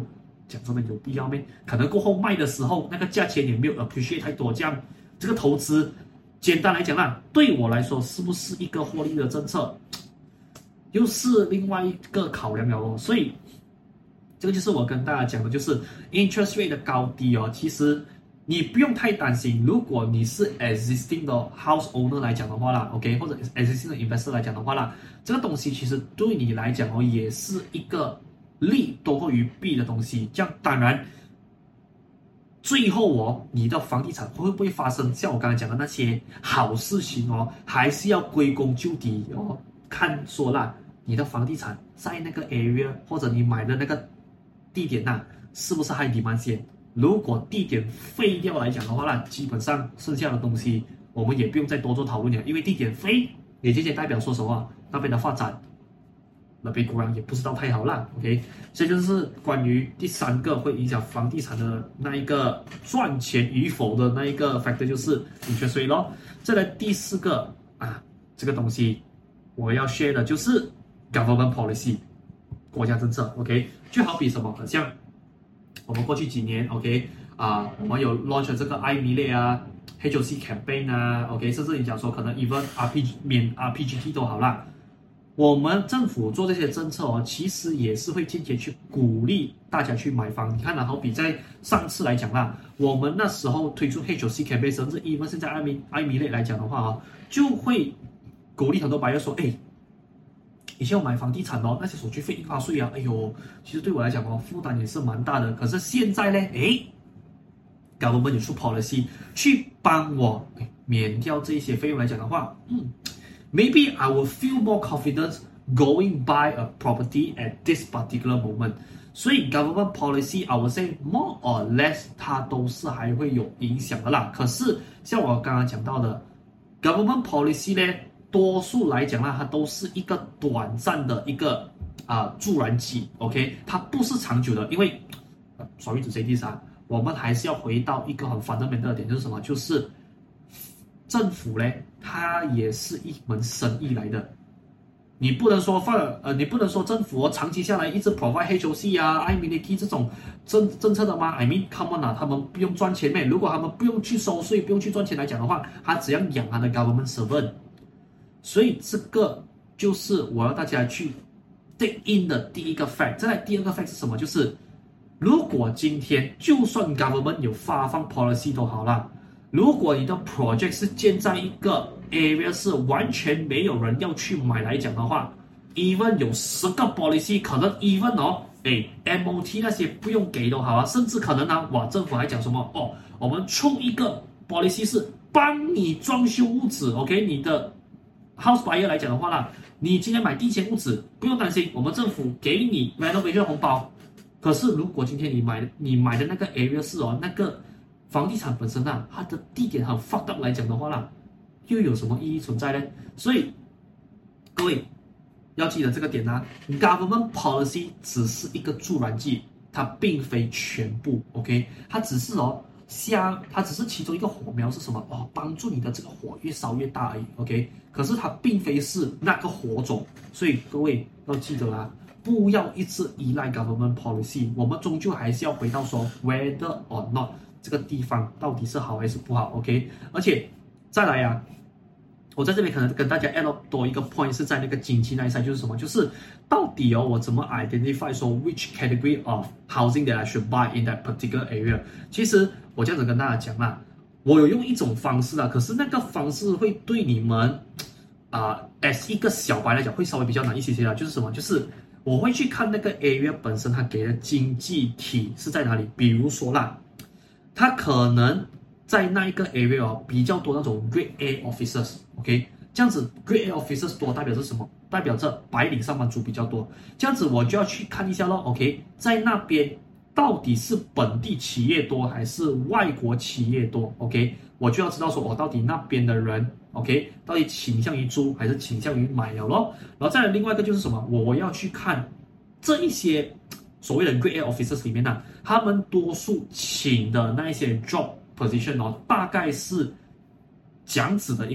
講真的有必要咩？可能過後賣的時候那個價錢也沒有 appreciate 太多，這樣這個投資簡單來講啦，對我來說是不是一個獲利的政策，又是另外一個考量了哦。所以這個就是我跟大家講的，就是 interest rate 的高低哦，其實你不用太擔心。如果你是 existing 的 house owner 來講的話啦 ，OK， 或者 existing 的 investor 來講的話啦，這個東西其實對你來講哦，也是一個利多過於弊的東西。這樣當然，最後哦，你的房地產會不會發生像我剛才講的那些好事情哦，還是要歸功就底哦，看說啦，你的房地產在那個 area 或者你買的那個地點吶、啊，是不是high demand先？如果地點廢掉來講的話呢，基本上剩下的東西我們也不用再多做討論了，因為地點廢也直接代表說什麼，那邊的發展那邊果然也不知道太好啦 ，OK， 所以就是關於第三個會影響房地產的那一個賺錢與否的那一個 factor 就是 interest rate 咯。再來第四個啊，這個東西我要 share 的就是 government policy 國家政策 ，OK， 就好比什麼，好像我們過去幾年 ，OK 啊、呃，我們有 launch 這個 I M I L E 啊 ，H O C campaign 啊 ，OK， 甚至你講說可能 even R P G 免 R P G T 都好啦。我們政府做這些政策哦，其實也是會間接去鼓勵大家去買房。你看啊，好比在上次來講啦，我們那時候推出 H O C campaign， 甚至 even 現在 I M I L E 來講的話哦，就會鼓勵很多 buyer 說，哎。以前我買房地產哦，那些手續費、印花稅啊，哎呦，其實對我來講哦，負擔也是蠻大的。可是現在呢，哎 ，government 有出 policy 去幫我免掉這些費用來講的話，嗯 ，maybe I will feel more confident going buy a property at this particular moment。所以 government policy I would say more or less 它都是還會有影響的啦。可是像我剛剛講到的 government policy 呢？多數來講啦，它都是一個短暫的一個啊、呃、助燃劑 ，OK， 它不是長久的，因為 sorry to say this 啊，我們還是要回到一個很 fundamental 的點，就是什麼？就是政府呢，它也是一門生意來的，你不能說放呃，你不能說政府、哦、長期下來一直 provide H O C 啊、I M I L E 這種政政策的嗎 ？I mean come on 啊，他們不用賺錢咩？如果他們不用去收稅、不用去賺錢來講的話，他只要養他的 government servant。所以這個就是我要大家去 take in 的第一個 fact。再來第二個 fact 是什麼？就是如果今天就算 government 有發放 policy 都好啦，如果你的 project 是建在一個 area 是完全沒有人要去買來講的話 ，even 有十個 policy， 可能 even 哦，哎 M O T 那些不用給都好啊，甚至可能呢，哇，政府還講什麼哦，我們出一個 policy 是幫你裝修屋子 ，OK， 你的。House buyer 來講的話啦，你今天買第一間屋子不用擔心，我們政府給你 renovation 紅包。可是如果今天你買你買的那個 area 是哦，那個房地產本身啊，它的地點很 fucked up 來講的話啦，又有什麼意義存在呢？所以各位要記得這個點啊 ，government policy 只是一個助燃劑，它並非全部 ，OK， 它只是哦。像它只是其中一個火苗是什麼哦？幫助你的這個火越燒越大而已 ，OK。可是它並非是那個火種，所以各位要記得啊，不要一直依賴 government policy。我們終究還是要回到說 whether or not 這個地方到底是好還是不好 ，OK。而且再來啊，我在這邊可能跟大家 add 多一個 point 是在那個經濟那一 side， 就是什麼？就是到底哦，我怎麼 identify 說 which category of housing that I should buy in that particular area？ 其實我這樣子跟大家講啦，我有用一種方式啊，可是那個方式會對你們啊、呃、，as 一個小白來講會稍微比較難一些些啦。就是什麼？就是我會去看那個 area 本身它給的經濟體是在哪裡。比如說啦，它可能在那一個 area 哦比較多那種 Grade A officers，OK， 這樣子 Grade A officers 多代表着什麼？代表着白領上班族比較多。這樣子我就要去看一下咯 ，OK， 在那邊。到底是本地企業多還是外國企業多 ？OK， 我就要知道說，我、哦、到底那邊的人 ，OK， 到底傾向於租還是傾向於買了咯？然後再來另外一個就是什麼？我我要去看這一些所謂的 Grade A officers 裡面呢、啊，他們多數請的那一些 job position 哦，大概是這樣子的一個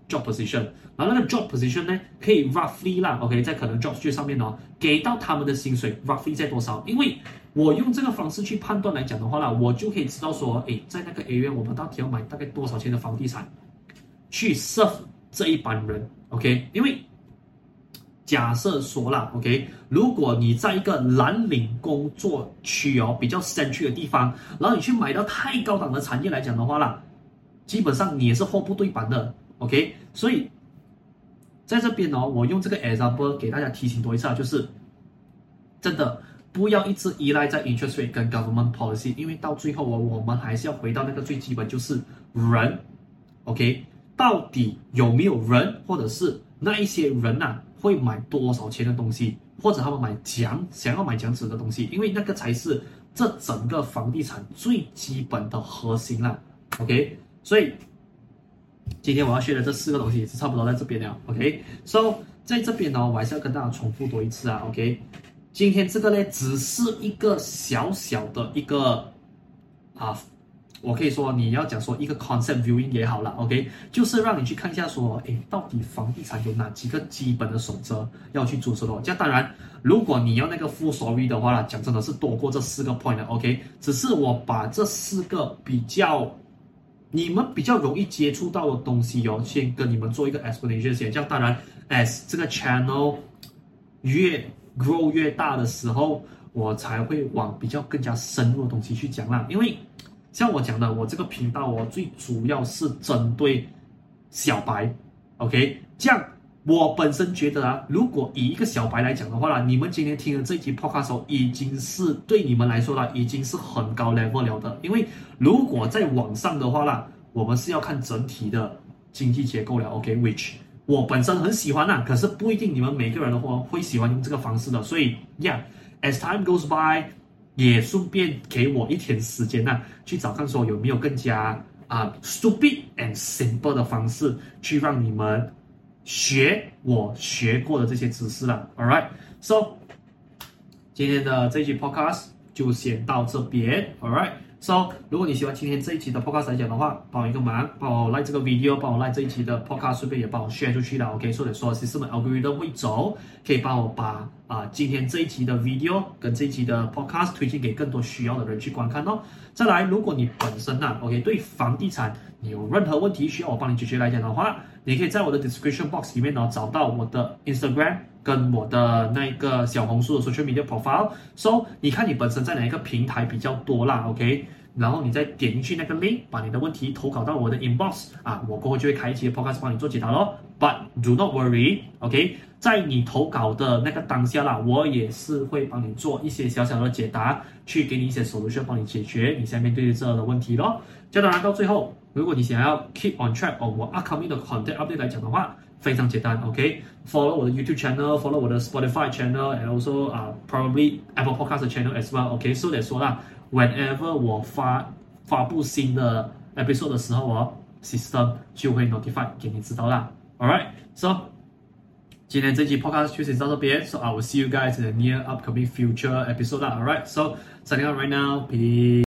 job position， 然後那個 job position 呢，可以 roughly 啦 ，OK， 在可能 job street 上面哦，給到他們的薪水 roughly 在多少？因為我用這個方式去判斷來講的話啦，我就可以知道說，誒，在那個 area 我們到底要買大概多少錢的房地產去 serve 這一班人 ，OK， 因為假設說啦 ，OK， 如果你在一個藍領工作區哦，比較 central 的地方，然後你去買到太高檔的產業來講的話啦，基本上你也是貨不對版的 ，OK， 所以在這邊哦，我用這個 example 給大家提醒多一次啊，就是真的不要一直依賴在 interest rate 跟 government policy， 因為到最後哦，我們還是要回到那個最基本，就是人 ，OK， 到底有沒有人，或者是那一些人啊，會買多少錢的東西，或者他們買講想要買這樣子的東西，因為那個才是這整個房地產最基本的核心啦 ，OK， 所以今天我要學的這四個東西也是差不多在這邊了 ，OK，So 在這邊呢，我還是要跟大家重複多一次啊 ，OK， 今天這個呢只是一個小小的一個啊。我可以說，你要講說一個 concept viewing 也好了 ，OK， 就是讓你去看一下說，誒，到底房地產有哪幾個基本的守則要去遵守的。這樣當然，如果你要那個 full story 的話啦，講真的是多過這四個 point 的 ，OK， 只是我把這四個比較你們比較容易接觸到的東西哦，先跟你們做一個 explanation 先。這樣當然 ，as 這個 channel 越 grow 越大的時候，我才會往比較更加深入的東西去講啦，因為像我講的，我這個頻道哦，最主要是針對小白 ，OK， 這樣我本身覺得啊，如果以一個小白來講的話啦，你們今天聽的這一期 podcast 已經是對你們來說啦，已經是很高 level 了的。因為如果在網上的話啦，我們是要看整體的經濟結構了 ，OK，which 我本身很喜歡啊，可是不一定你們每個人的話會喜歡用這個方式的。所以 ，yeah，as time goes by。也順便給我一點時間吶、啊，去找看說有沒有更加啊、uh, stupid and simple 的方式，去讓你們學我學過的這些知識了。Alright， so 今天的這一期 podcast 就先到這邊。Alright，so 如果你喜歡今天這一期的 podcast 來講的話，幫我一個忙，幫我 like 這個 video， 幫我 like 這一期的 podcast， 順便也幫我 share 出去了。OK， 所以說 system algorithm 會走，可以幫我把啊、呃，今天這一期的 video 跟這一期的 podcast 推薦給更多需要的人去觀看哦。再來，如果你本身啊 ，OK， 對房地產你有任何問題需要我幫你解決來講的話，你可以在我的 description box 裡面呢找到我的 Instagram 跟我的那個小紅書的 social media profile。So 你看你本身在哪一個平台比較多啦 ，OK， 然後你再點進去那個 link， 把你的問題投稿到我的 inbox 啊，我過後就會開一期的 podcast 幫你做解答咯。But do not worry，OK， 在你投稿的那個當下啦，我也是會幫你做一些小小的解答，去給你一些 solution 幫你解決你現在面對的這樣的問題咯。這當然到最後，如果你想要 keep on track of 我 upcoming 的 content update 來講的話，非常簡單 ，OK，follow 我的 YouTube channel，follow 我的 Spotify channel，and also 啊、uh, probably Apple Podcast channel as well，OK，so that 說啦 ，whenever 我發發布新的 episode 的時候哦 ，system 就會 notify 給你知道啦。Alright, so 今天這期 podcast 就先到這邊 ，so I will see you guys in the near upcoming future episode 啦。Alright, so signing out right now, peace.